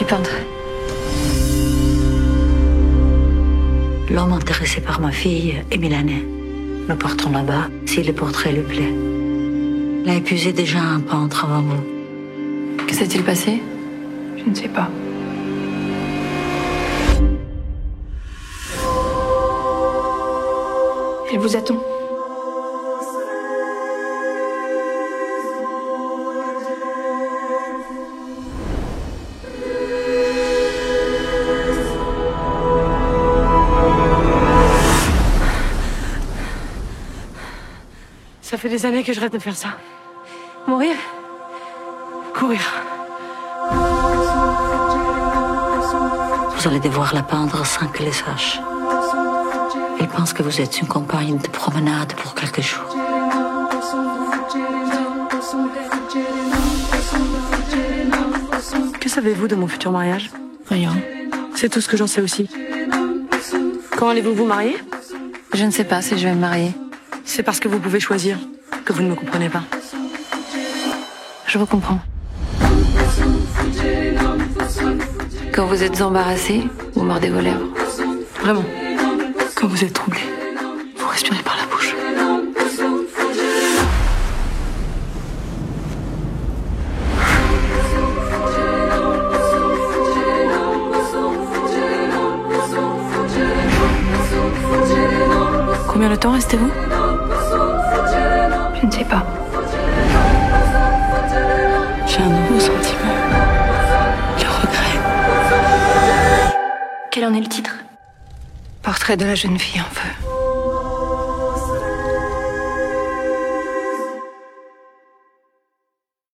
suis peintre. L'homme intéressé par ma fille est milanais. Nous partons là-bas si le portrait lui plaît. Il a épuisé déjà un peintre avant vous. Que s'est-il passé? Je ne sais pas. Elle vous attend. Ça fait des années que je rêve de faire ça. Mourir? Courir. Vous allez devoir la peindre sans qu'elle le sache. Il pense que vous êtes une compagne de promenade pour quelques jours. Que savez-vous de mon futur mariage? Rien. C'est tout ce que j'en sais aussi. Quand allez-vous vous marier? Je ne sais pas si je vais me marier. C'est parce que vous pouvez choisir que vous ne me comprenez pas. Je vous comprends. Quand vous êtes embarrassé, vous mordez vos lèvres. Vraiment. Quand vous êtes troublé, vous respirez par la bouche. Combien de temps restez-vous? Je ne sais pas. J'ai un nouveau sentiment. Le regret. Quel en est le titre? Portrait de la jeune fille en feu.